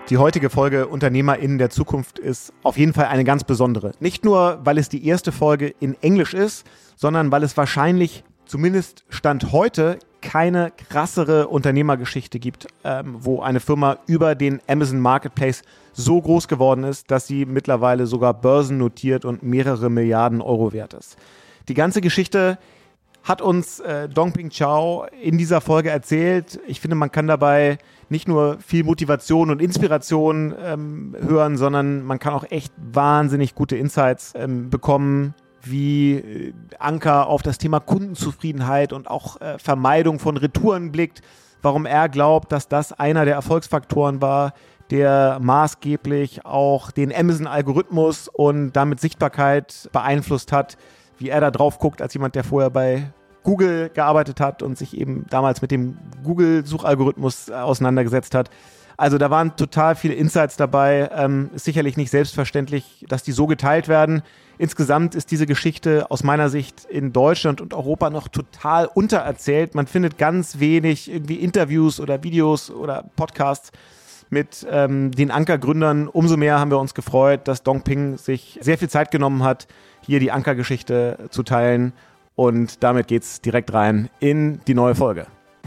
Die heutige Folge UnternehmerInnen der Zukunft ist auf jeden Fall eine ganz besondere. Nicht nur, weil es die erste Folge in Englisch ist, sondern weil es wahrscheinlich, zumindest Stand heute, keine krassere Unternehmergeschichte gibt, wo eine Firma über den Amazon Marketplace so groß geworden ist, dass sie mittlerweile sogar börsennotiert und mehrere Milliarden Euro wert ist. Die ganze Geschichte hat uns Dongping Zhao in dieser Folge erzählt. Ich finde, man kann dabei nicht nur viel Motivation und Inspiration hören, sondern man kann auch echt wahnsinnig gute Insights bekommen, wie Anker auf das Thema Kundenzufriedenheit und auch Vermeidung von Retouren blickt, warum er glaubt, dass das einer der Erfolgsfaktoren war, der maßgeblich auch den Amazon-Algorithmus und damit Sichtbarkeit beeinflusst hat, wie er da drauf guckt, als jemand, der vorher bei Google gearbeitet hat und sich eben damals mit dem Google-Suchalgorithmus auseinandergesetzt hat. Also da waren total viele Insights dabei. Ist sicherlich nicht selbstverständlich, dass die so geteilt werden. Insgesamt ist diese Geschichte aus meiner Sicht in Deutschland und Europa noch total untererzählt. Man findet ganz wenig irgendwie Interviews oder Videos oder Podcasts mit den Anker-Gründern. Umso mehr haben wir uns gefreut, dass Dongping sich sehr viel Zeit genommen hat, hier die Anker-Geschichte zu teilen. Und damit geht's direkt rein in die neue Folge.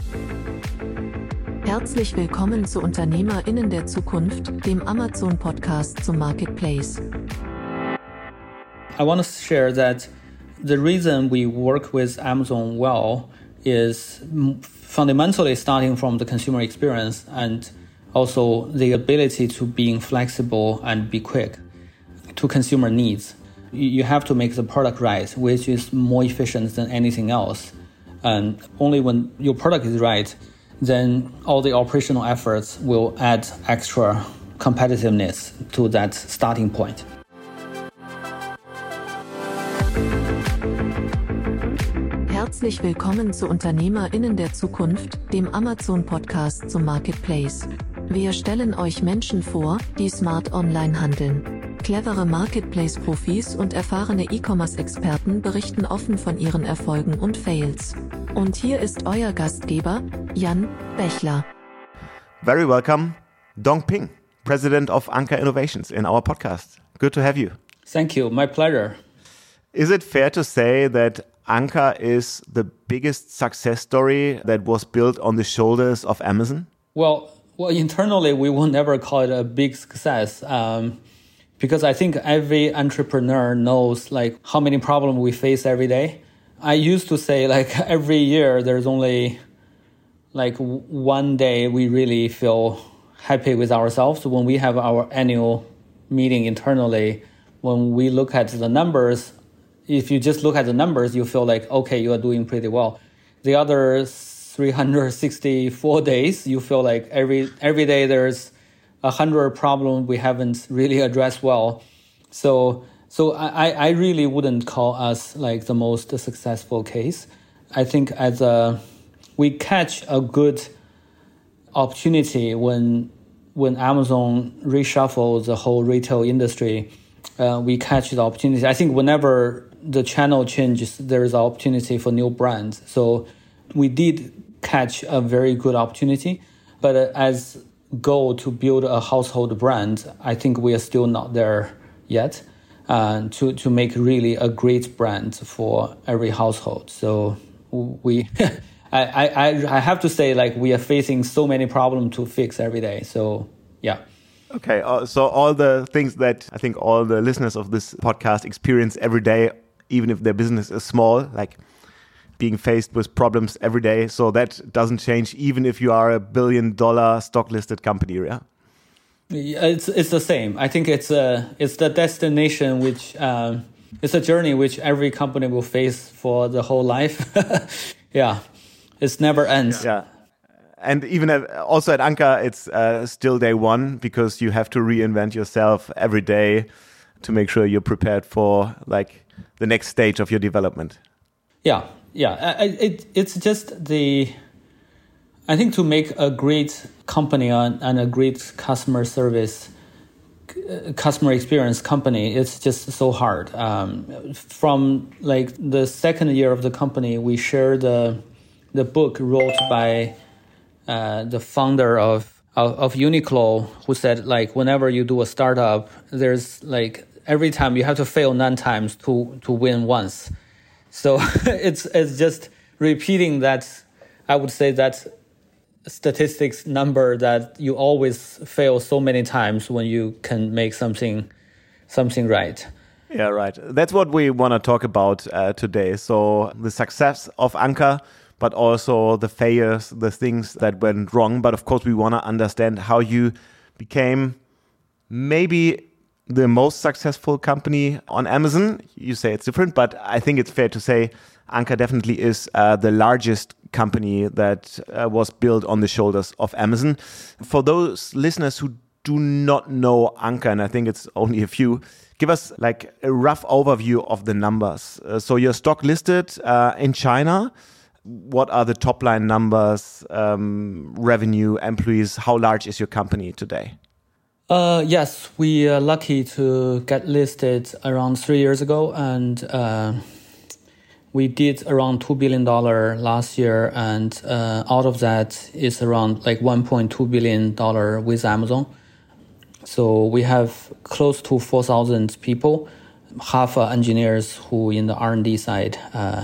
Herzlich willkommen zu UnternehmerInnen der Zukunft, dem Amazon-Podcast zum Marketplace. I want to share that the reason we work with Amazon well is fundamentally starting from the consumer experience and also the ability to being flexible and be quick to consumer needs. You have to make the product right, which is more efficient than anything else. And only when your product is right, then all the operational efforts will add extra competitiveness to that starting point. Herzlich willkommen zu UnternehmerInnen der Zukunft, dem Amazon-Podcast zum Marketplace. Wir stellen euch Menschen vor, die smart online handeln. Clevere Marketplace-Profis und erfahrene E-Commerce-Experten berichten offen von ihren Erfolgen und Fails. Und hier ist euer Gastgeber, Jan Bechler. Very welcome, Dongping, President of Anker Innovations in our podcast. Good to have you. Thank you. My pleasure. Is it fair to say that Anker is the biggest success story that was built on the shoulders of Amazon? Well, internally, we will never call it a big success. Because I think every entrepreneur knows like how many problems we face every day. I used to say like every year there's only like one day we really feel happy with ourselves when we have our annual meeting internally. When we look at the numbers, if you just look at the numbers, you feel like, okay, you are doing pretty well. The other 364 days, you feel like every day there's 100 problems we haven't really addressed well. So I really wouldn't call us like the most successful case. I think we catch a good opportunity when Amazon reshuffles the whole retail industry. We catch the opportunity. I think whenever the channel changes, there is an opportunity for new brands. So we did catch a very good opportunity, but as goal to build a household brand, I think we are still not there yet. To make really a great brand for every household. So we, I have to say, like we are facing so many problems to fix every day. So yeah. Okay, so all the things that I think all the listeners of this podcast experience every day, even if their business is small, like being faced with problems every day. So that doesn't change even if you are $1 billion stock listed company, yeah? It's the same. I think it's the destination which it's a journey which every company will face for the whole life. Yeah, it never ends. Yeah, and even also at Anker, it's still day one because you have to reinvent yourself every day to make sure you're prepared for like the next stage of your development. Yeah. It's just I think to make a great company and a great customer experience company, it's just so hard. From like the second year of the company, we share the book wrote by the founder of of Uniqlo, who said like whenever you do a startup, there's like every time you have to fail 9 times to win once. So it's just repeating that. I would say that statistics number that you always fail so many times when you can make something right. Yeah, right. That's what we want to talk about today. So the success of Anker, but also the failures, the things that went wrong. But of course, we want to understand how you became maybe the most successful company on Amazon. You say it's different, but I think it's fair to say Anker definitely is the largest company that was built on the shoulders of Amazon. For those listeners who do not know Anker, and I think it's only a few, give us like a rough overview of the numbers. So you're stock listed in China. What are the top line numbers, revenue, employees? How large is your company today? Yes, we are lucky to get listed around 3 years ago, and we did around $2 billion last year, and out of that is around like $1.2 billion with Amazon. So we have close to 4,000 people, half are engineers who in the R&D side.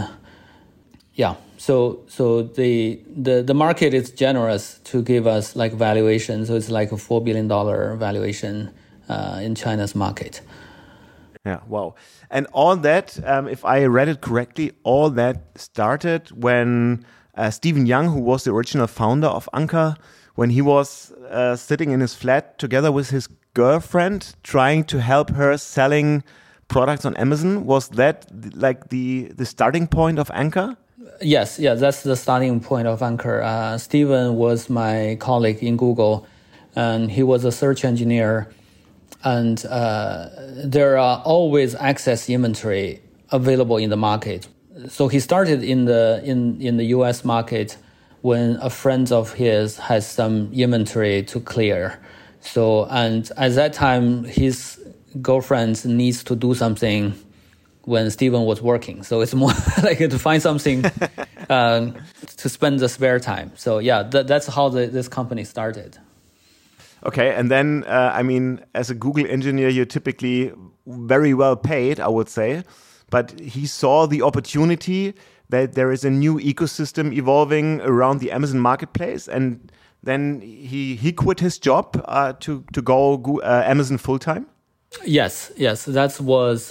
So the market is generous to give us like valuation. So it's like a $4 billion valuation in China's market. Yeah, wow. And all that, if I read it correctly, all that started when Stephen Young, who was the original founder of Anker, when he was sitting in his flat together with his girlfriend, trying to help her selling products on Amazon. Was that like the starting point of Anker? Yes, that's the starting point of Anker. Stephen was my colleague in Google, and he was a search engineer. And there are always excess inventory available in the market. So he started in the US market when a friend of his has some inventory to clear. So, and at that time, his girlfriend needs to do something when Stephen was working. So it's more like to find something to spend the spare time. So yeah, that's how this company started. Okay, and then, I mean, as a Google engineer, you're typically very well paid, I would say. But he saw the opportunity that there is a new ecosystem evolving around the Amazon marketplace, and then he quit his job to go Amazon full-time? Yes, that was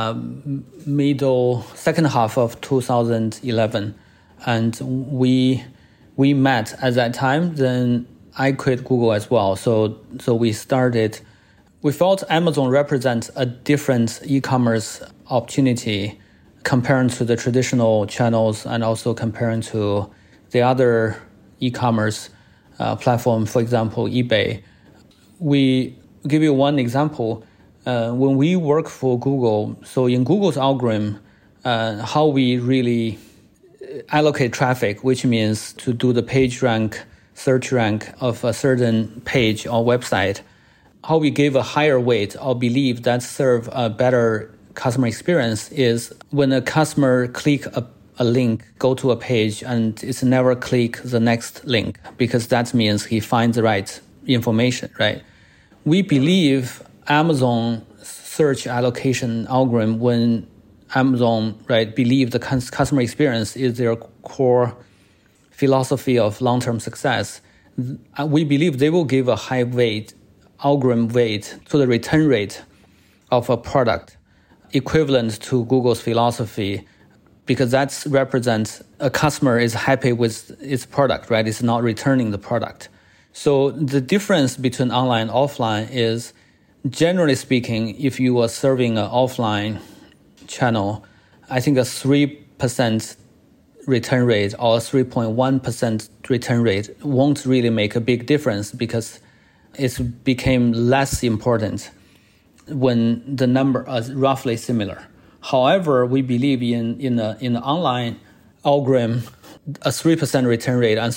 second half of 2011. And we met at that time, then I quit Google as well. So we felt Amazon represents a different e-commerce opportunity comparing to the traditional channels and also comparing to the other e-commerce platform, for example, eBay. We give you one example. When we work for Google, so in Google's algorithm, how we really allocate traffic, which means to do the page rank, search rank of a certain page or website, how we give a higher weight or believe that serve a better customer experience is when a customer click a link, go to a page, and it's never click the next link, because that means he finds the right information, right? We believe Amazon search allocation algorithm, when Amazon, right, believe the customer experience is their core philosophy of long-term success, we believe they will give a high weight, algorithm weight to the return rate of a product equivalent to Google's philosophy, because that represents a customer is happy with its product, right? It's not returning the product. So the difference between online and offline is, generally speaking, if you are serving an offline channel, I think a 3% return rate or 3.1% return rate won't really make a big difference, because it became less important when the number is roughly similar. However, we believe in the online algorithm, a 3% return rate and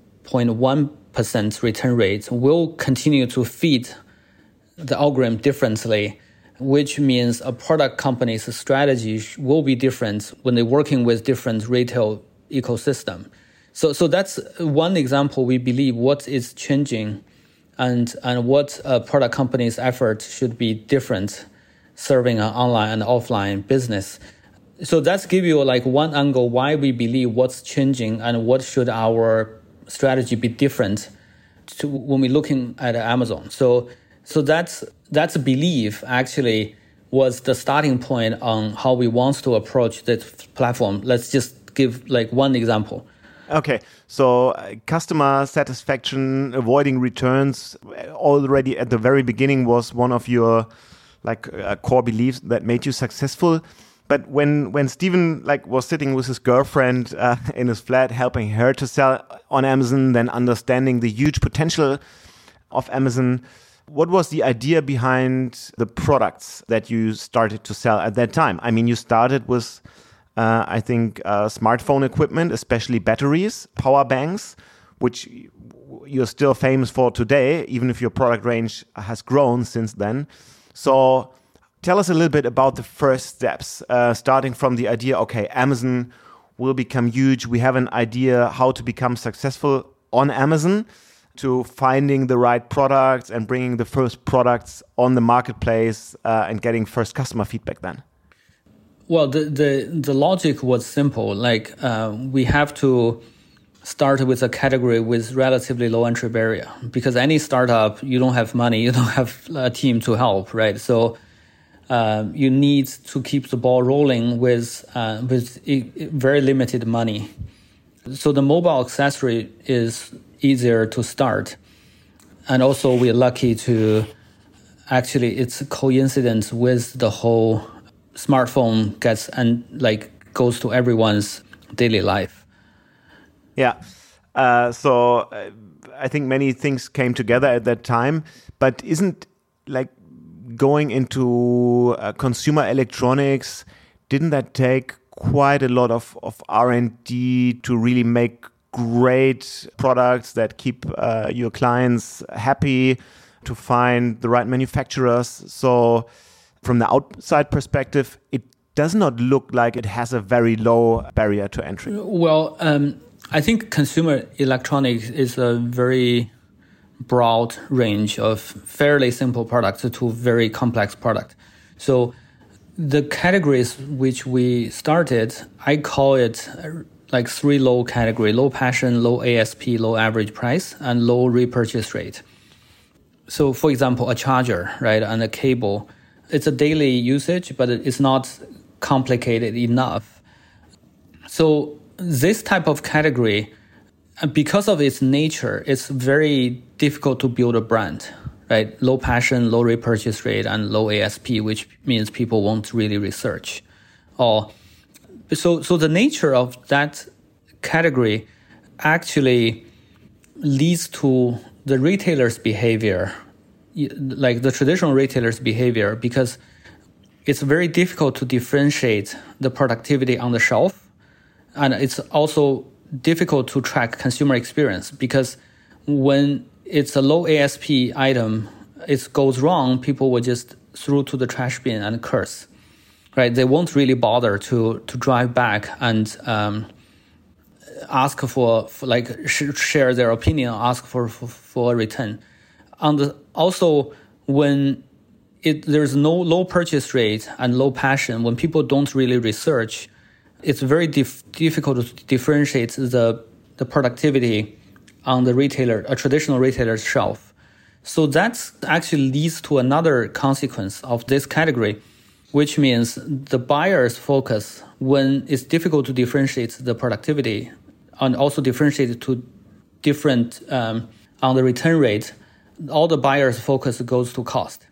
3.1% return rate will continue to feed the algorithm differently, which means a product company's strategy will be different when they're working with different retail ecosystem. So that's one example. We believe what is changing and what a product company's effort should be different serving an online and offline business. So that's give you like one angle why we believe what's changing and what should our strategy be different to when we're looking at Amazon. So that's a belief actually was the starting point on how we want to approach this platform. Let's just give like one example. Okay, so customer satisfaction, avoiding returns already at the very beginning was one of your core beliefs that made you successful. But when Steven was sitting with his girlfriend in his flat, helping her to sell on Amazon, then understanding the huge potential of Amazon, what was the idea behind the products that you started to sell at that time? I mean, you started with, I think, smartphone equipment, especially batteries, power banks, which you're still famous for today, even if your product range has grown since then. So tell us a little bit about the first steps, starting from the idea, okay, Amazon will become huge. We have an idea how to become successful on Amazon, to finding the right products and bringing the first products on the marketplace and getting first customer feedback then. Well, the logic was simple. We have to start with a category with relatively low entry barrier, because any startup, you don't have money, you don't have a team to help, right? So you need to keep the ball rolling with very limited money. So the mobile accessory is easier to start. And also we're lucky to actually, it's a coincidence with the whole smartphone goes to everyone's daily life. Yeah. So I think many things came together at that time, but isn't going into consumer electronics, didn't that take quite a lot of R&D to really make great products that keep your clients happy, to find the right manufacturers? So from the outside perspective, it does not look like it has a very low barrier to entry. Well, I think consumer electronics is a very broad range of fairly simple products to very complex products. So the categories which we started, I call it like three low category: low passion, low ASP, low average price, and low repurchase rate. So for example, a charger, right, and a cable, it's a daily usage, but it's not complicated enough. So this type of category, because of its nature, it's very difficult to build a brand, right? Low passion, low repurchase rate, and low ASP, which means people won't really research. So the nature of that category actually leads to the retailer's behavior, like the traditional retailer's behavior, because it's very difficult to differentiate the productivity on the shelf. And it's also difficult to track consumer experience, because when it's a low ASP item, it goes wrong, people will just throw to the trash bin and curse. Right, they won't really bother to drive back and ask for share their opinion, ask for a return. Also, when there's no low purchase rate and low passion, when people don't really research, it's very difficult to differentiate the productivity on the retailer, a traditional retailer's shelf. So that actually leads to another consequence of this category, which means the buyer's focus, when it's difficult to differentiate the productivity and also differentiate it to different on the return rate, all the buyer's focus goes to cost.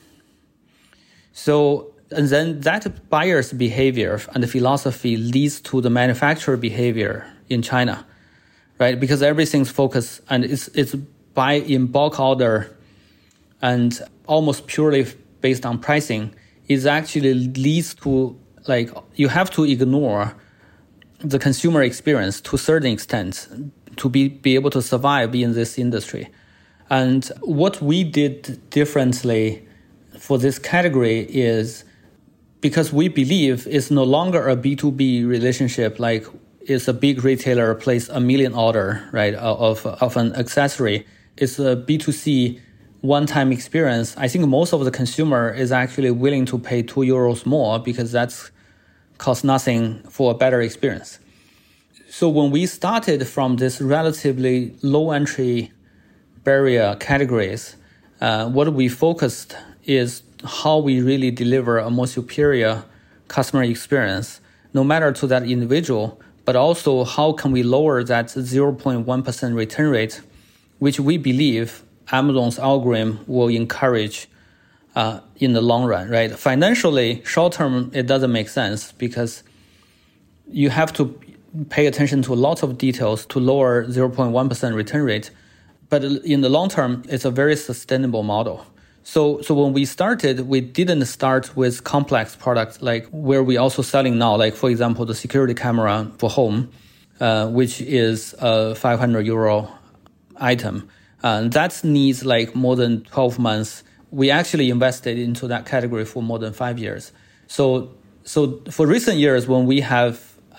So, and then that buyer's behavior and the philosophy leads to the manufacturer behavior in China, right? Because everything's focused and it's buy in bulk order and almost purely based on pricing. It actually leads to you have to ignore the consumer experience to a certain extent to be able to survive in this industry. And what we did differently for this category is, because we believe it's no longer a B2B relationship, like it's a big retailer place 1 million order, right, of an accessory. it's a B2C one-time experience, I think most of the consumer is actually willing to pay €2 more because that's costs nothing for a better experience. So when we started from this relatively low entry barrier categories, what we focused is how we really deliver a more superior customer experience, no matter to that individual, but also how can we lower that 0.1% return rate, which we believe Amazon's algorithm will encourage in the long run, right? Financially, short term, it doesn't make sense because you have to pay attention to lots of details to lower 0.1% return rate. But in the long term, it's a very sustainable model. So when we started, we didn't start with complex products like where we also selling now, like for example, the security camera for home, which is a €500 item. That needs like more than 12 months. We actually invested into that category for more than 5 years. So for recent years, when we have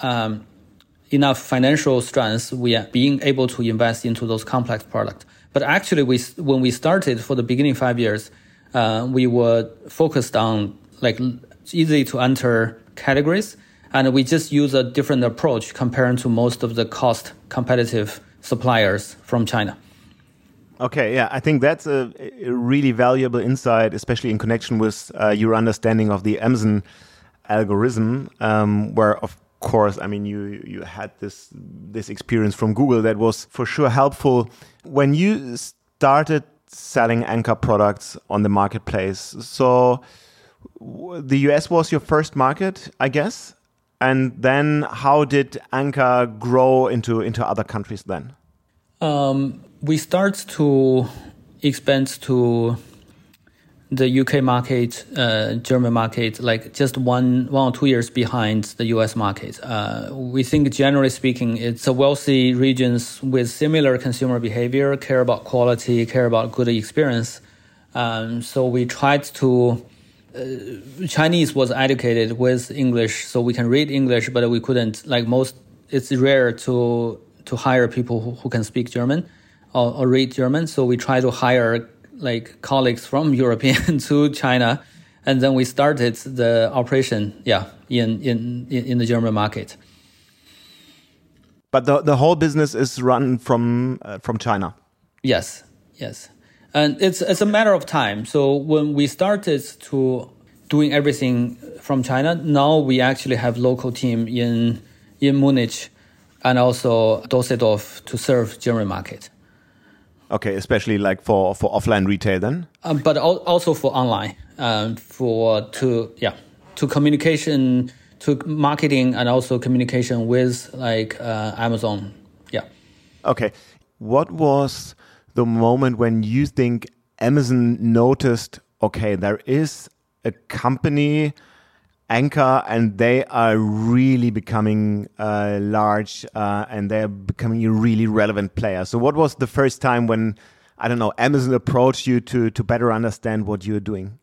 enough financial strength, we are being able to invest into those complex products. But actually, when we started for the beginning 5 years, we were focused on like easy to enter categories, and we just use a different approach compared to most of the cost competitive suppliers from China. Okay, yeah, I think that's a really valuable insight, especially in connection with your understanding of the Amazon algorithm, where of course, I mean, you had this experience from Google that was for sure helpful. When you started selling Anker products on the marketplace, so the US was your first market, I guess, and then how did Anker grow into other countries then? We start to expand to the UK market, German market, like just one or 2 years behind the US market. We think generally speaking, it's a wealthy regions with similar consumer behavior, care about quality, care about good experience. So we tried to, Chinese was educated with English, so we can read English, but we couldn't, like most, it's rare to hire people who can speak German or read German. So we try to hire like colleagues from European to China, and then we started the operation, in the German market. But the whole business is run from China. Yes, and it's a matter of time. So when we started to doing everything from China, now we actually have local team in Munich and also Düsseldorf to serve German market. Okay, especially like for offline retail then? But also for online, to communication, to marketing, and also communication with like Amazon. Yeah. Okay. What was the moment when you think Amazon noticed, okay, there is a company, Anker, and they are really becoming large and they're becoming a really relevant player. So what was the first time when, I don't know, Amazon approached you to better understand what you're doing?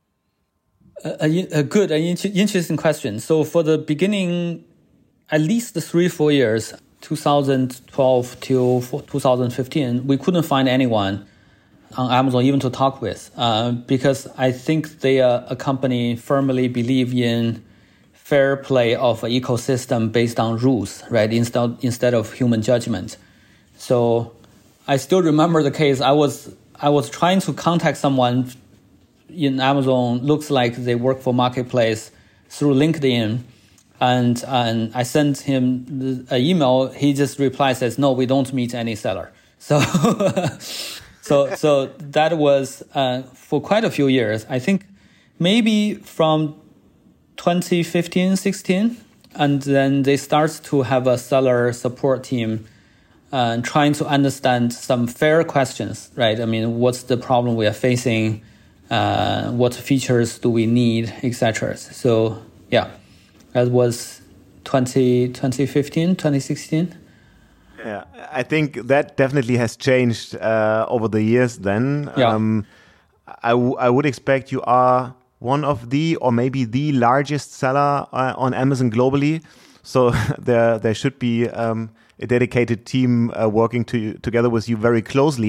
A good and interesting question. So for the beginning, at least the 3-4 years, 2012 till 2015, we couldn't find anyone on Amazon even to talk with, because I think they are a company firmly believe in fair play of an ecosystem based on rules, right? Instead of human judgment. So I still remember the case. I was trying to contact someone in Amazon. Looks like they work for Marketplace through LinkedIn, and I sent him an email. He just replied, says, "No, we don't meet any seller." So. So that was for quite a few years. I think maybe from 2015, 16, and then they start to have a seller support team trying to understand some fair questions, right? I mean, what's the problem we are facing? What features do we need, etc. So yeah, that was 2015, 2016. Yeah, I think that definitely has changed over the years then. Yeah. I would expect you are one of the, or maybe the largest seller on Amazon globally. So there should be a dedicated team working together with you very closely.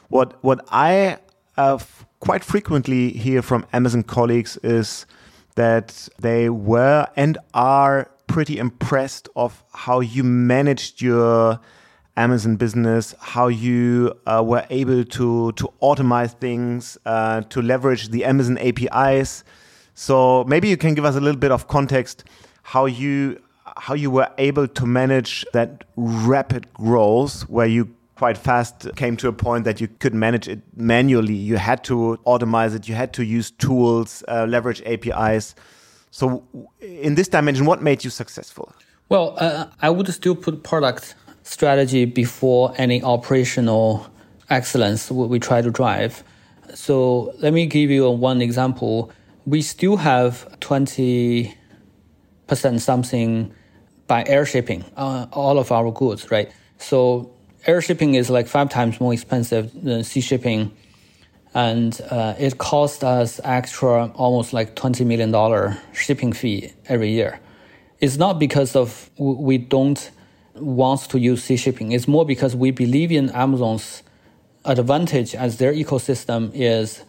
What I quite frequently hear from Amazon colleagues is that they were and are pretty impressed of how you managed your Amazon business, how you were able to automate things, to leverage the Amazon APIs. So maybe you can give us a little bit of context how you were able to manage that rapid growth where you quite fast came to a point that you couldn't manage it manually. You had to automate it. You had to use tools, leverage APIs. So in this dimension, what made you successful? Well, I would still put product strategy before any operational excellence we try to drive. So let me give you one example. We still have 20% something by air shipping, all of our goods, right? So air shipping is like 5 times more expensive than sea shipping. And it cost us extra almost like $20 million shipping fee every year. It's not because of we don't want to use sea shipping. It's more because we believe in Amazon's advantage as their ecosystem is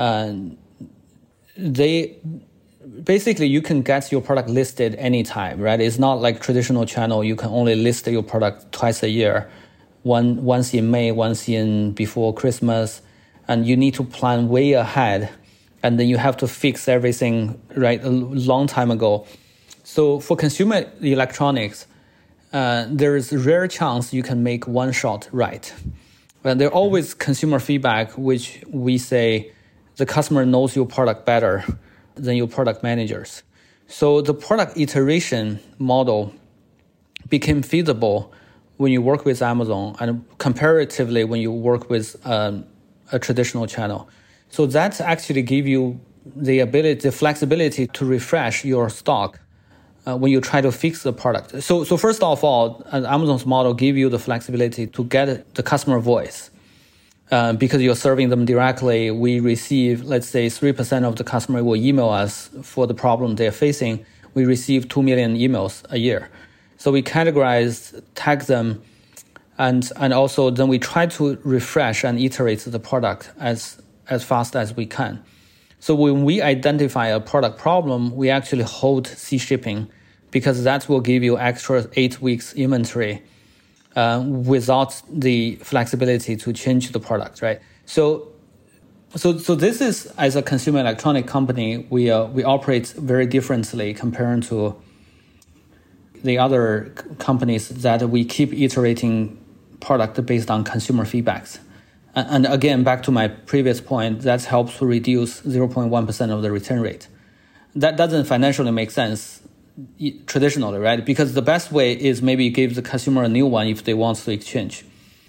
basically you can get your product listed anytime, right? It's not like traditional channel. You can only list your product twice a year, once in May, once in before Christmas. And you need to plan way ahead, and then you have to fix everything right a long time ago. So for consumer electronics, there is a rare chance you can make one shot right. There are always consumer feedback, which we say the customer knows your product better than your product managers. So the product iteration model became feasible when you work with Amazon, and comparatively when you work with a traditional channel. So that actually give you the flexibility to refresh your stock when you try to fix the product. So first of all, Amazon's model give you the flexibility to get the customer voice. Because you're serving them directly, we receive, let's say 3% of the customer will email us for the problem they're facing. We receive 2 million emails a year. So we categorize, tag them, and also then we try to refresh and iterate the product as fast as we can. So when we identify a product problem, we actually hold sea shipping because that will give you extra 8 weeks inventory without the flexibility to change the product, right? So this is, as a consumer electronic company, we operate very differently compared to the other companies that we keep iterating product based on consumer feedbacks. And again, back to my previous point, that helps to reduce 0.1% of the return rate. That doesn't financially make sense traditionally, right? Because the best way is maybe give the consumer a new one if they want to exchange.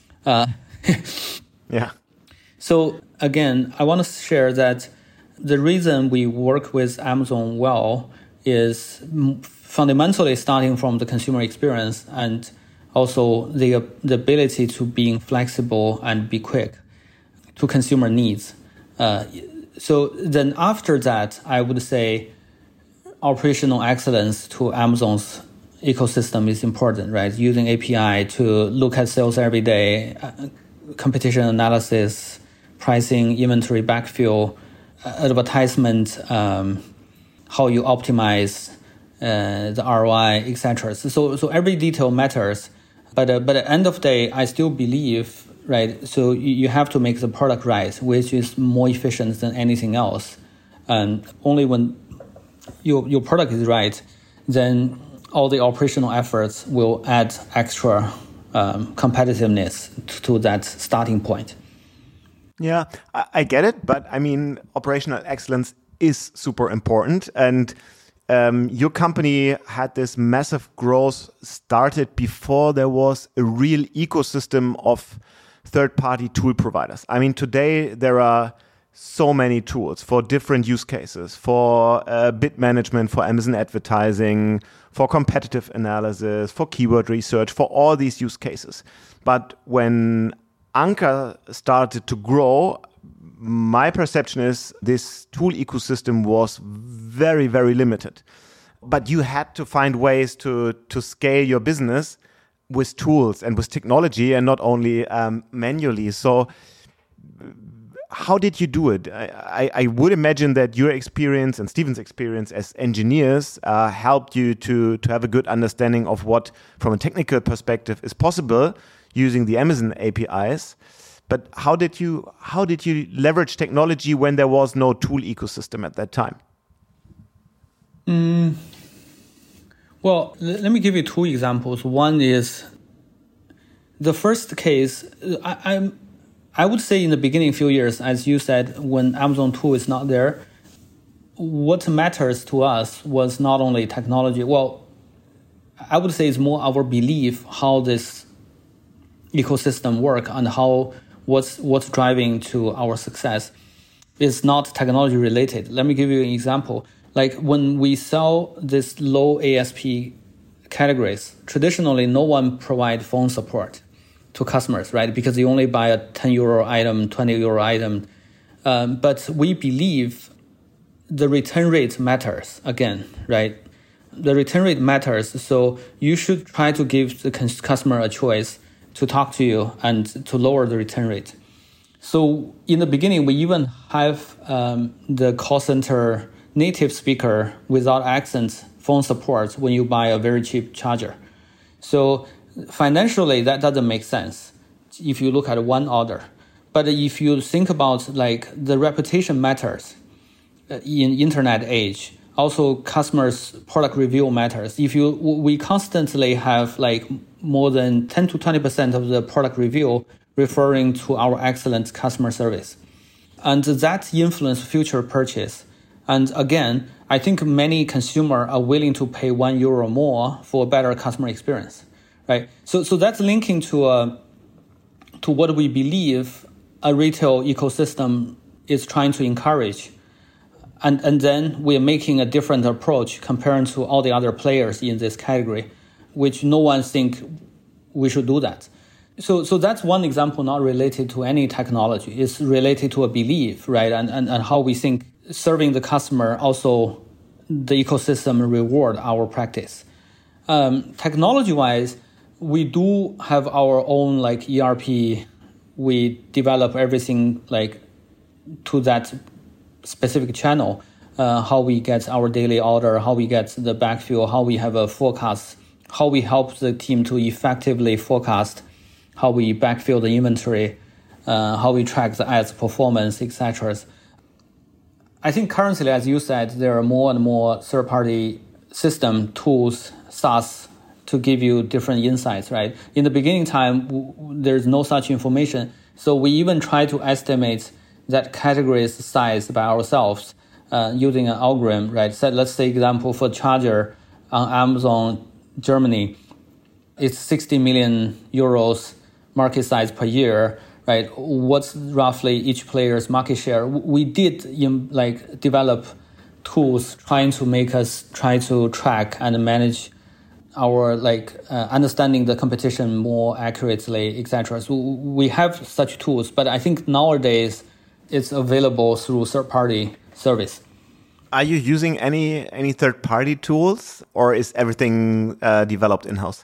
Yeah. So again, I want to share that the reason we work with Amazon well is fundamentally starting from the consumer experience and also the ability to being flexible and be quick to consumer needs. So then after that, I would say operational excellence to Amazon's ecosystem is important, right? Using API to look at sales every day, competition analysis, pricing, inventory backfill, advertisement, how you optimize the ROI, etc. So every detail matters. But at the end of the day, I still believe, right? So you have to make the product right, which is more efficient than anything else. And only when your product is right, then all the operational efforts will add extra competitiveness to that starting point. Yeah, I get it. But I mean, operational excellence is super important. And your company had this massive growth started before there was a real ecosystem of third-party tool providers. I mean, today there are so many tools for different use cases, for bid management, for Amazon advertising, for competitive analysis, for keyword research, for all these use cases. But when Anker started to grow, my perception is this tool ecosystem was very, very limited. But you had to find ways to scale your business with tools and with technology and not only manually. So how did you do it? I would imagine that your experience and Steven's experience as engineers helped you to have a good understanding of what, from a technical perspective, is possible using the Amazon APIs. But how did you leverage technology when there was no tool ecosystem at that time? Well, let me give you two examples. One is the first case. I would say in the beginning few years, as you said, when Amazon tool is not there, what matters to us was not only technology. Well, I would say it's more our belief how this ecosystem work and what's driving to our success is not technology related. Let me give you an example. Like when we sell this low ASP categories, traditionally no one provide phone support to customers, right? Because you only buy a 10 euro item, 20 euro item. But we believe the return rate matters again, right? The return rate matters. So you should try to give the customer a choice to talk to you and to lower the return rate. So in the beginning, we even have the call center native speaker without accent phone support when you buy a very cheap charger. So financially, that doesn't make sense if you look at one order. But if you think about like the reputation matters in internet age, also customers' product review matters. We constantly have like more than 10 to 20% of the product review referring to our excellent customer service. And that influences future purchase. And again, I think many consumers are willing to pay €1 more for a better customer experience, right? So that's linking to what we believe a retail ecosystem is trying to encourage. And then we're making a different approach comparing to all the other players in this category, which no one think we should do that. So that's one example not related to any technology. It's related to a belief, right? And how we think serving the customer, also the ecosystem reward our practice. Technology-wise, we do have our own like ERP. We develop everything like to that specific channel, how we get our daily order, how we get the backfill, how we have a forecast, how we help the team to effectively forecast, how we backfill the inventory, how we track the ads performance, etc. I think currently, as you said, there are more and more third-party system tools, SaaS, to give you different insights, right? In the beginning time, there's no such information. So we even try to estimate that category's size by ourselves using an algorithm, right? So let's say example for charger on Amazon Germany, it's 60 million euros market size per year, right? What's roughly each player's market share? We did develop tools trying to make us try to track and manage our understanding the competition more accurately, etc. So we have such tools, but I think nowadays it's available through third-party service. Are you using any third-party tools, or is everything developed in-house?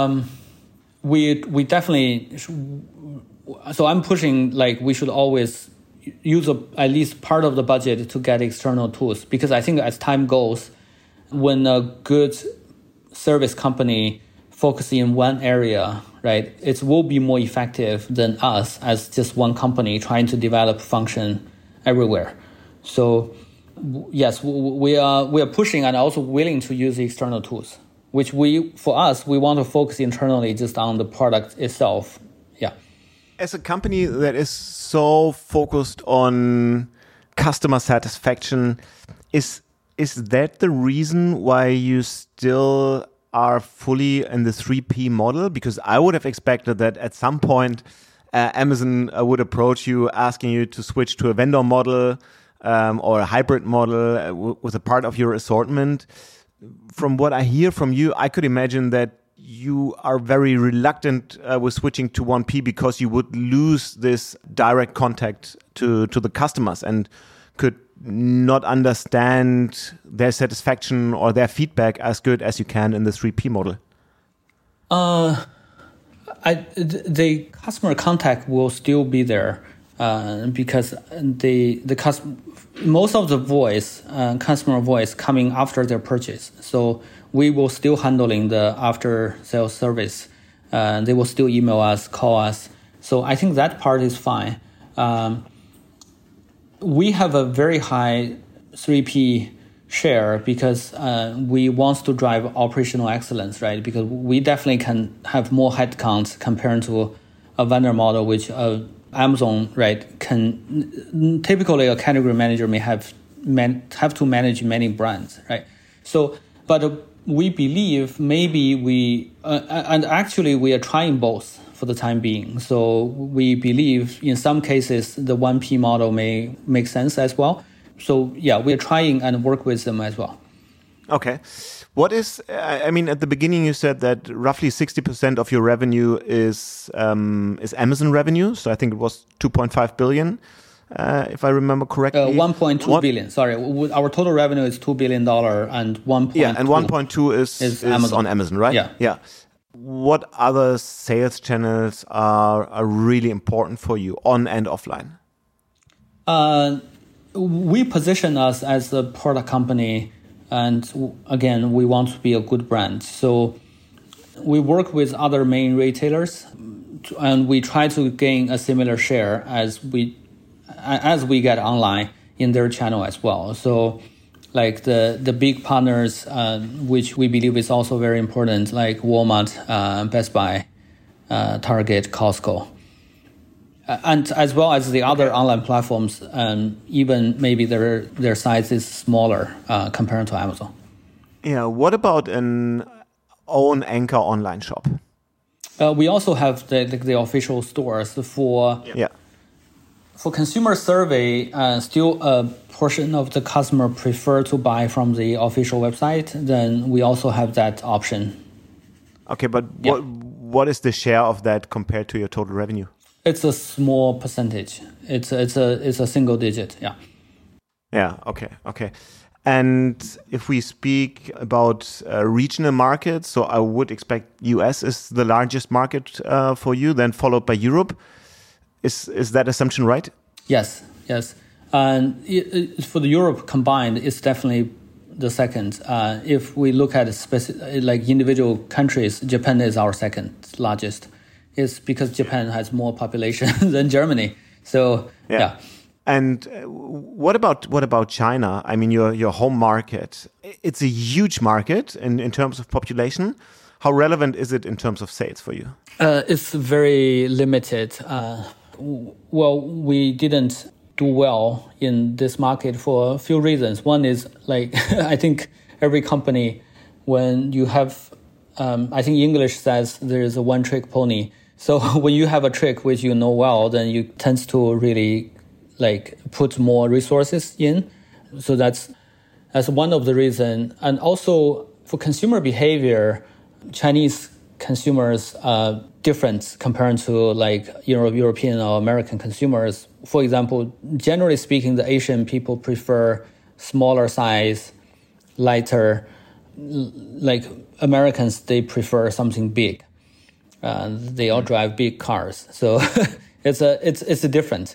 We definitely. So I'm pushing we should always use at least part of the budget to get external tools, because I think as time goes, when a good service company focuses in one area, right, it will be more effective than us as just one company trying to develop function everywhere. So yes, we are pushing and also willing to use external tools, which we want to focus internally just on the product itself. Yeah. As a company that is so focused on customer satisfaction, is that the reason why you still are fully in the 3P model? Because I would have expected that at some point Amazon would approach you asking you to switch to a vendor model or a hybrid model with a part of your assortment. From what I hear from you, I could imagine that you are very reluctant with switching to 1P because you would lose this direct contact to the customers and could not understand their satisfaction or their feedback as good as you can in the 3P model. The customer contact will still be there. because most of the voice, customer voice, coming after their purchase. So we will still handling the after sales service. They will still email us, call us. So I think that part is fine. We have a very high 3P share because we want to drive operational excellence, right? Because we definitely can have more headcounts compared to a vendor model, which Amazon, right, can typically a category manager may have to manage many brands, right? So, but we believe maybe and actually we are trying both for the time being. So we believe in some cases the 1P model may make sense as well. So yeah, we're trying and work with them as well. Okay. What is, I mean, at the beginning you said that roughly 60% of your revenue is Amazon revenue. So I think it was 2.5 billion, if I remember correctly. 1.2 billion, sorry. Our total revenue is $2 billion and 1.2. Yeah, and 1.2 is Amazon. On Amazon, right? Yeah. Yeah. What other sales channels are really important for you, on and offline? We position us as a product company, and again, we want to be a good brand. So we work with other main retailers, and we try to gain a similar share as we get online in their channel as well. So like the big partners, which we believe is also very important, like Walmart, Best Buy, Target, Costco. And as well as the other online platforms, even maybe their size is smaller compared to Amazon. Yeah. What about an own anchor online shop? We also have the official stores for consumer survey. Still a portion of the customer prefer to buy from the official website. Then we also have that option. Okay, but what is the share of that compared to your total revenue? It's a small percentage. It's a single digit. Yeah. Yeah. Okay. And if we speak about regional markets, so I would expect US is the largest market for you, then followed by Europe. Is that assumption right? Yes. And for the Europe combined, it's definitely the second. If we look at like individual countries, Japan is our second largest. It's because Japan has more population than Germany. So yeah. And what about China? I mean, your home market. It's a huge market in terms of population. How relevant is it in terms of sales for you? It's very limited. Well, we didn't do well in this market for a few reasons. One is like I think every company, when you have, I think English says there is a one-trick pony. So when you have a trick which you know well, then you tend to really like put more resources in. So that's one of the reasons. And also for consumer behavior, Chinese consumers are different compared to like European or American consumers. For example, generally speaking, the Asian people prefer smaller size, lighter. Like Americans, they prefer something big. They all drive big cars, so it's a different.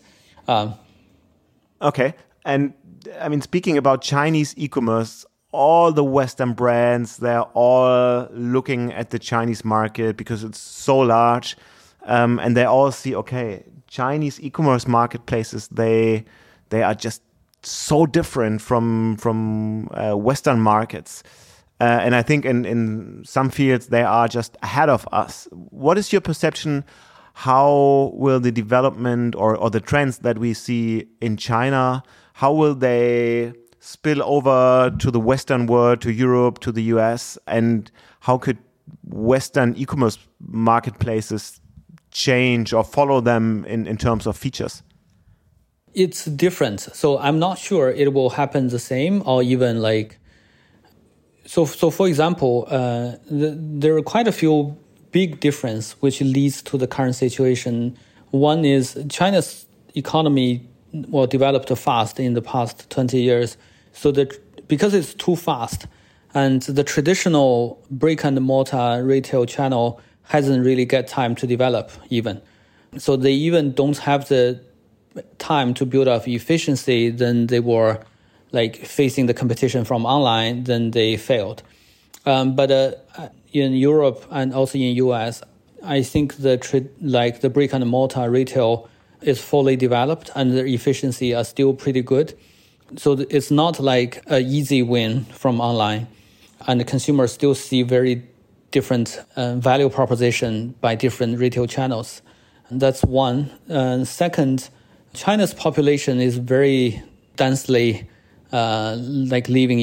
Okay, and I mean, speaking about Chinese e-commerce, all the Western brands, they're all looking at the Chinese market because it's so large, and they all see, okay, Chinese e-commerce marketplaces, they are just so different from Western markets. And I think in some fields, they are just ahead of us. What is your perception? How will the development or the trends that we see in China, how will they spill over to the Western world, to Europe, to the US? And how could Western e-commerce marketplaces change or follow them in terms of features? It's different. So I'm not sure it will happen the same or even like... So for example, there are quite a few big difference which leads to the current situation. One is China's economy developed fast in the past 20 years. So because it's too fast and the traditional brick and mortar retail channel hasn't really get time to develop even. So they even don't have the time to build up efficiency, then they were like facing the competition from online, then they failed. But in Europe and also in US, I think the brick and mortar retail is fully developed and the efficiency are still pretty good. So it's not like an easy win from online, and the consumers still see very different value proposition by different retail channels. And that's one. Second, China's population is very densely living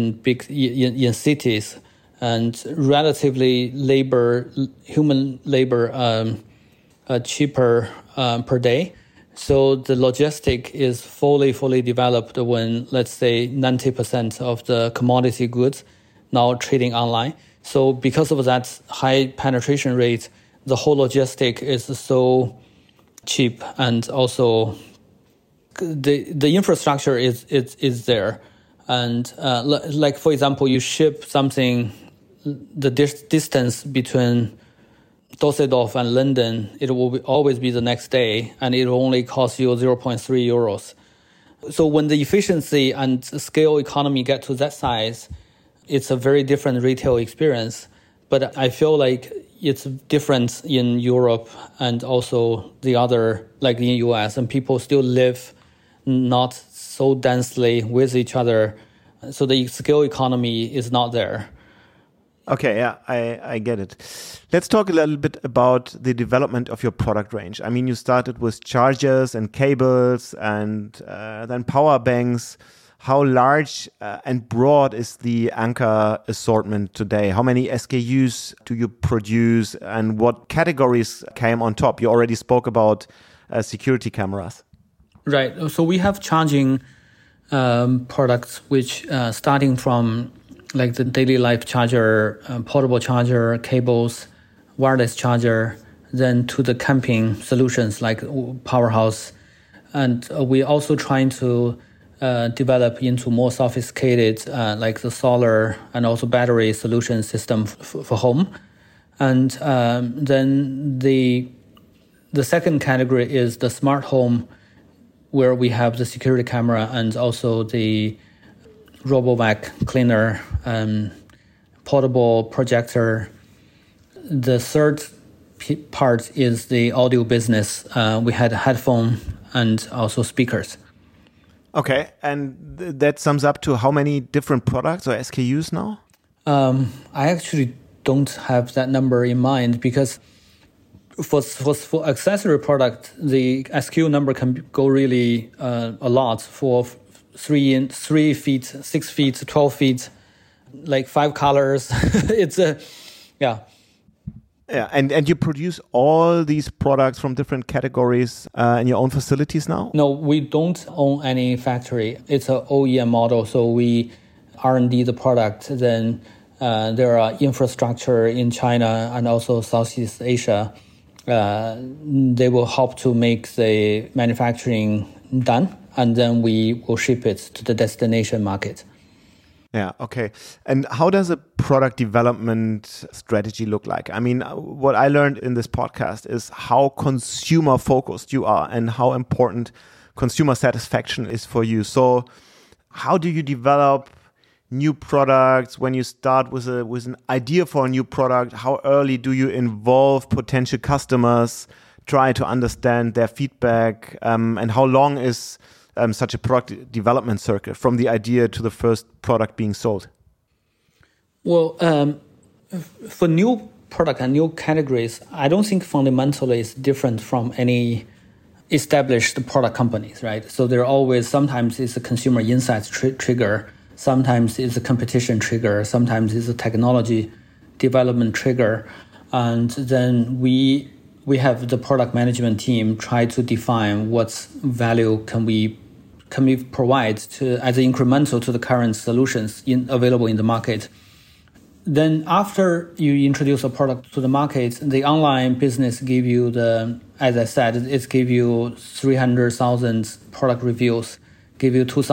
in cities, and relatively human labor cheaper per day. So the logistic is fully developed when, let's say, 90% of the commodity goods now trading online. So because of that high penetration rate, the whole logistic is so cheap, and also the infrastructure is there. And like, for example, you ship something, the distance between Düsseldorf and London, it will always be the next day, and it will only cost you 0.3 euros. So when the efficiency and scale economy get to that size, it's a very different retail experience. But I feel like it's different in Europe and also the other, like in US, and people still live not so densely with each other. So the scale economy is not there. Okay, yeah, I get it. Let's talk a little bit about the development of your product range. I mean, you started with chargers and cables and then power banks. How large and broad is the Anker assortment today? How many SKUs do you produce, and what categories came on top? You already spoke about security cameras. Right. So we have charging products which starting from like the daily life charger, portable charger, cables, wireless charger, then to the camping solutions like Powerhouse. And we're also trying to develop into more sophisticated like the solar and also battery solution system for home. And then the second category is the smart home, where we have the security camera and also the RoboVac cleaner, portable projector. The third part is the audio business. We had headphone and also speakers. Okay, and that sums up to how many different products or SKUs now? I actually don't have that number in mind, because for accessory product, the SKU number can go really a lot. For 3 feet, 6 feet, 12 feet, like 5 colors. It's yeah. Yeah, and you produce all these products from different categories in your own facilities now? No, we don't own any factory. It's an OEM model, so we R&D the product. Then there are infrastructure in China and also Southeast Asia. They will help to make the manufacturing done, and then we will ship it to the destination market. Yeah, okay. And how does a product development strategy look like? I mean, what I learned in this podcast is how consumer focused you are and how important consumer satisfaction is for you. So how do you develop new products? When you start with an idea for a new product, how early do you involve potential customers, try to understand their feedback, and how long is such a product development circle from the idea to the first product being sold? Well, for new product and new categories, I don't think fundamentally it's different from any established product companies, right? So there are always, sometimes it's a consumer insights trigger, sometimes it's a competition trigger, sometimes it's a technology development trigger. And then we have the product management team try to define what value can we provide to as incremental to the current solutions available in the market. Then after you introduce a product to the market, the online business give you as I said, it give you 300,000 product reviews, give you 2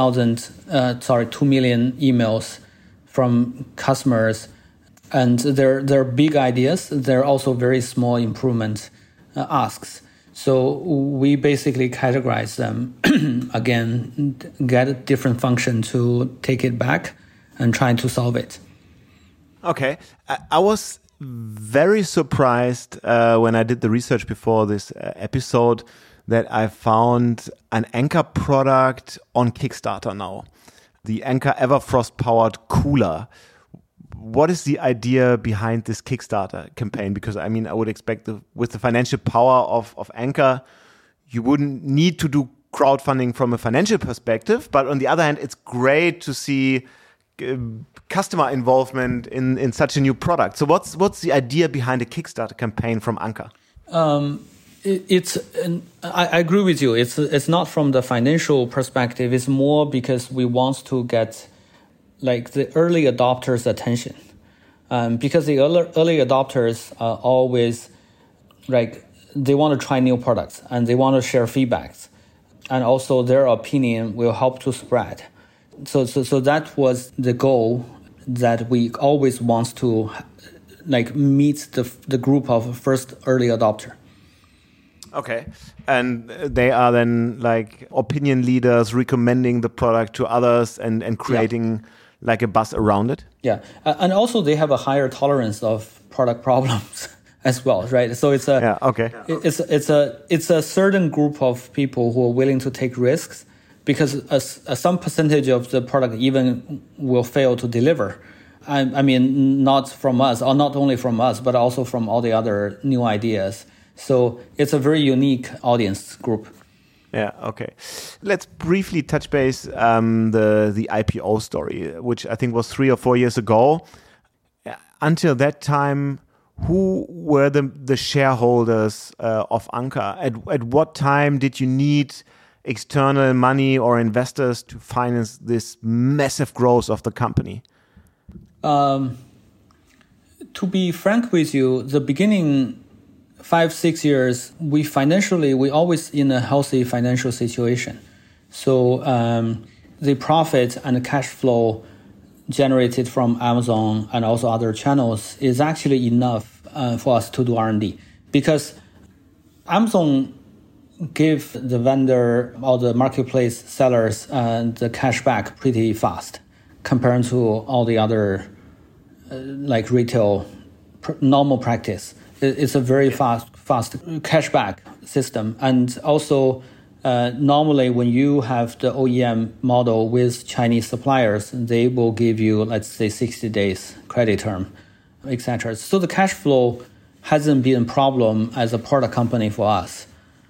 million emails from customers. And they're big ideas. They're also very small improvement asks. So we basically categorize them, again, get a different function to take it back and try to solve it. Okay. I was very surprised when I did the research before this episode that I found an Anker product on Kickstarter now. The Anker Everfrost powered cooler. What is the idea behind this Kickstarter campaign? Because I mean, I would expect with the financial power of Anker, you wouldn't need to do crowdfunding from a financial perspective. But on the other hand, it's great to see customer involvement in such a new product. So what's the idea behind a Kickstarter campaign from Anker? I agree with you. It's not from the financial perspective. It's more because we want to get like the early adopters' attention, because the early adopters are always like they want to try new products and they want to share feedbacks, and also their opinion will help to spread. So that was the goal, that we always want to like meet the group of first early adopter. Okay. And they are then like opinion leaders recommending the product to others and creating like a buzz around it? Yeah. And also they have a higher tolerance of product problems as well, right? So it's it's a certain group of people who are willing to take risks, because some percentage of the product even will fail to deliver. I mean, not from us, or not only from us, but also from all the other new ideas. So it's a very unique audience group. Yeah, okay. Let's briefly touch base the IPO story, which I think was 3 or 4 years ago. Until that time, who were the shareholders of Anker? At what time did you need external money or investors to finance this massive growth of the company? To be frank with you, the beginning 5-6 years, we always in a healthy financial situation. So the profit and the cash flow generated from Amazon and also other channels is actually enough for us to do R&D, because Amazon give the vendor or the marketplace sellers the cash back pretty fast compared to all the other like retail normal practice. It's a very fast cashback system. And also, normally when you have the OEM model with Chinese suppliers, they will give you, let's say, 60 days credit term, etc. So the cash flow hasn't been a problem as a product company for us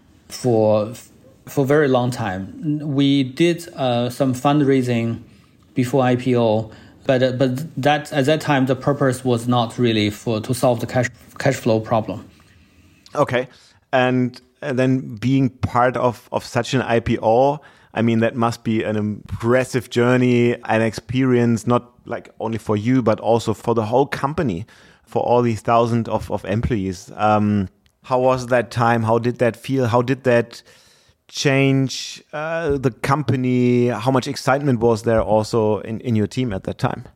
for a very long time. We did some fundraising before IPO, but that at that time the purpose was not really to solve the cash flow problem. Okay, and then being part of such an IPO, I mean, that must be an impressive journey and experience, not like only for you, but also for the whole company, for all these thousands of employees. How was that time? How did that feel? How did that change the company? How much excitement was there also in your team at that time?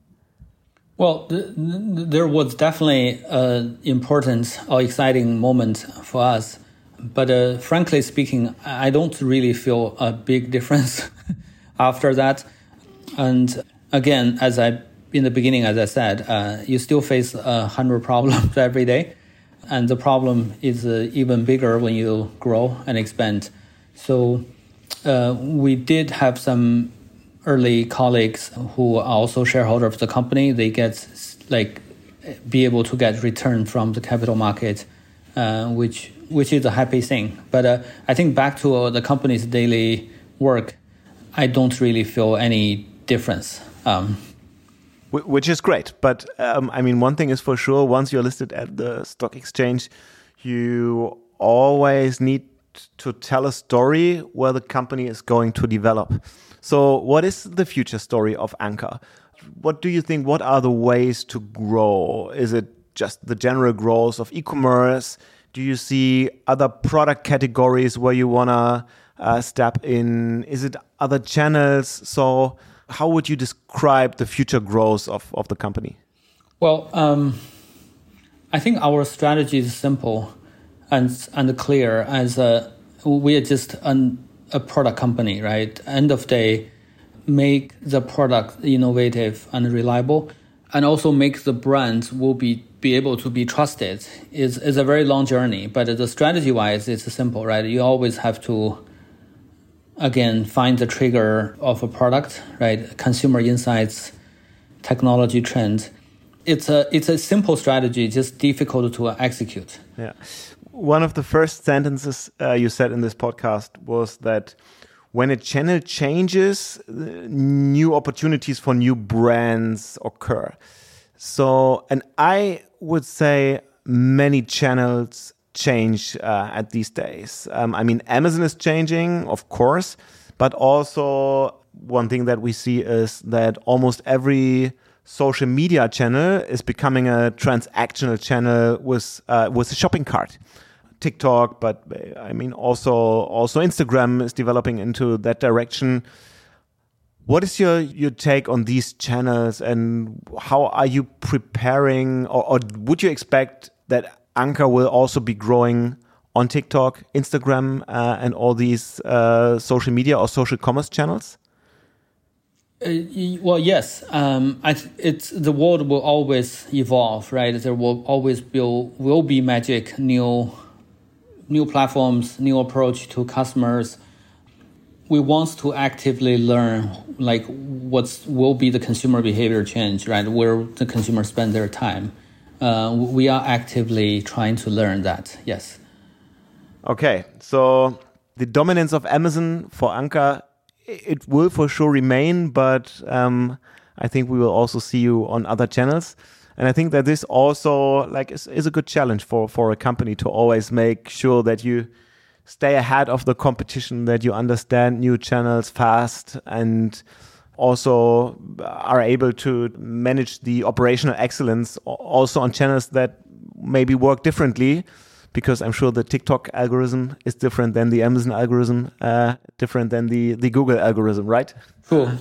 Well, there was definitely an important or exciting moment for us. But frankly speaking, I don't really feel a big difference after that. And again, in the beginning, as I said, you still face 100 problems every day. And the problem is even bigger when you grow and expand. So we did have some early colleagues who are also shareholders of the company. They get be able to get return from the capital market, which is a happy thing. But I think back to the company's daily work, I don't really feel any difference. Which is great. But I mean, one thing is for sure, once you're listed at the stock exchange, you always need to tell a story where the company is going to develop. So what is the future story of Anker? What do you think? What are the ways to grow? Is it just the general growth of e-commerce? Do you see other product categories where you want to step in? Is it other channels? So how would you describe the future growth of the company? Well, I think our strategy is simple. and clear as we are just a product company, right? End of day, make the product innovative and reliable, and also make the brands will be able to be trusted is a very long journey. But the strategy-wise, it's simple, right? You always have to, again, find the trigger of a product, right? Consumer insights, technology trends. It's a simple strategy, just difficult to execute. Yeah. One of the first sentences you said in this podcast was that when a channel changes, new opportunities for new brands occur. So, and I would say many channels change at these days. I mean, Amazon is changing, of course, but also one thing that we see is that almost every social media channel is becoming a transactional channel with a shopping cart. TikTok, but I mean also Instagram is developing into that direction. What is your take on these channels, and how are you preparing, or would you expect that Anker will also be growing on TikTok, Instagram, and all these social media or social commerce channels? Well, yes. It's the world will always evolve, right? There will always be magic, new platforms, new approach to customers. We want to actively learn like what will be the consumer behavior change, right? Where the consumers spend their time. We are actively trying to learn that. Yes. Okay, so the dominance of Amazon for Anker, it will for sure remain, but I think we will also see you on other channels. And I think that this also is a good challenge for a company to always make sure that you stay ahead of the competition, that you understand new channels fast, and also are able to manage the operational excellence also on channels that maybe work differently, because I'm sure the TikTok algorithm is different than the Amazon algorithm, different than the Google algorithm, right? Cool.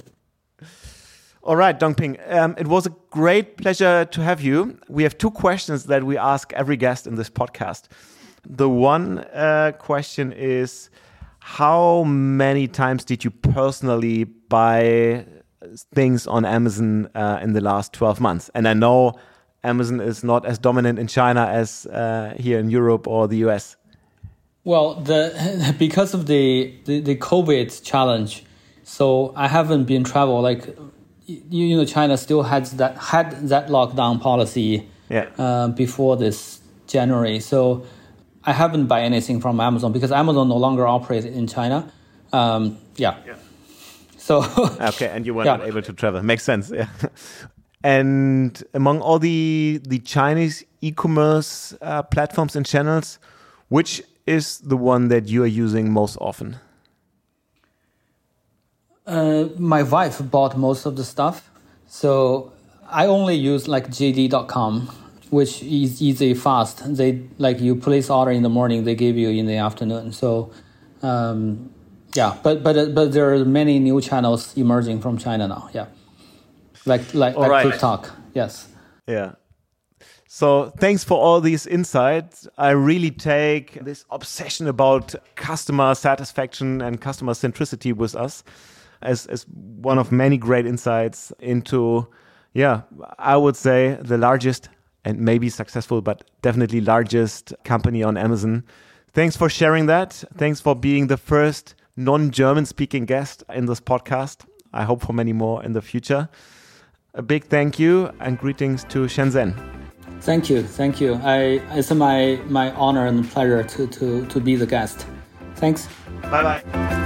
All right, Dongping, it was a great pleasure to have you. We have two questions that we ask every guest in this podcast. The one question is, how many times did you personally buy things on Amazon in the last 12 months? And I know Amazon is not as dominant in China as here in Europe or the US. Well, because of the COVID challenge, so I haven't been travel. Like, China still had that lockdown policy before this January. So I haven't buy anything from Amazon because Amazon no longer operates in China. So okay, and you were not able to travel. Makes sense. Yeah. And among all the Chinese e-commerce platforms and channels, which is the one that you are using most often? My wife bought most of the stuff, so I only use like JD.com, which is easy, fast. They you place order in the morning, they give you in the afternoon. So, but there are many new channels emerging from China now. Yeah, like TikTok. Yes. Yeah. So thanks for all these insights. I really take this obsession about customer satisfaction and customer centricity with us as one of many great insights into, I would say the largest and maybe successful, but definitely largest company on Amazon. Thanks for sharing that. Thanks for being the first non-German speaking guest in this podcast. I hope for many more in the future. A big thank you and greetings to Shenzhen. Thank you. It's my honor and pleasure to be the guest. Thanks. Bye-bye.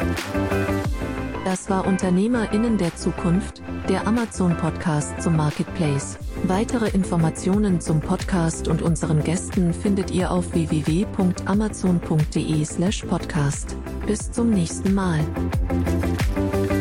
Das war UnternehmerInnen der Zukunft, der Amazon-Podcast zum Marketplace. Weitere Informationen zum Podcast und unseren Gästen findet ihr auf www.amazon.de/podcast. Bis zum nächsten Mal.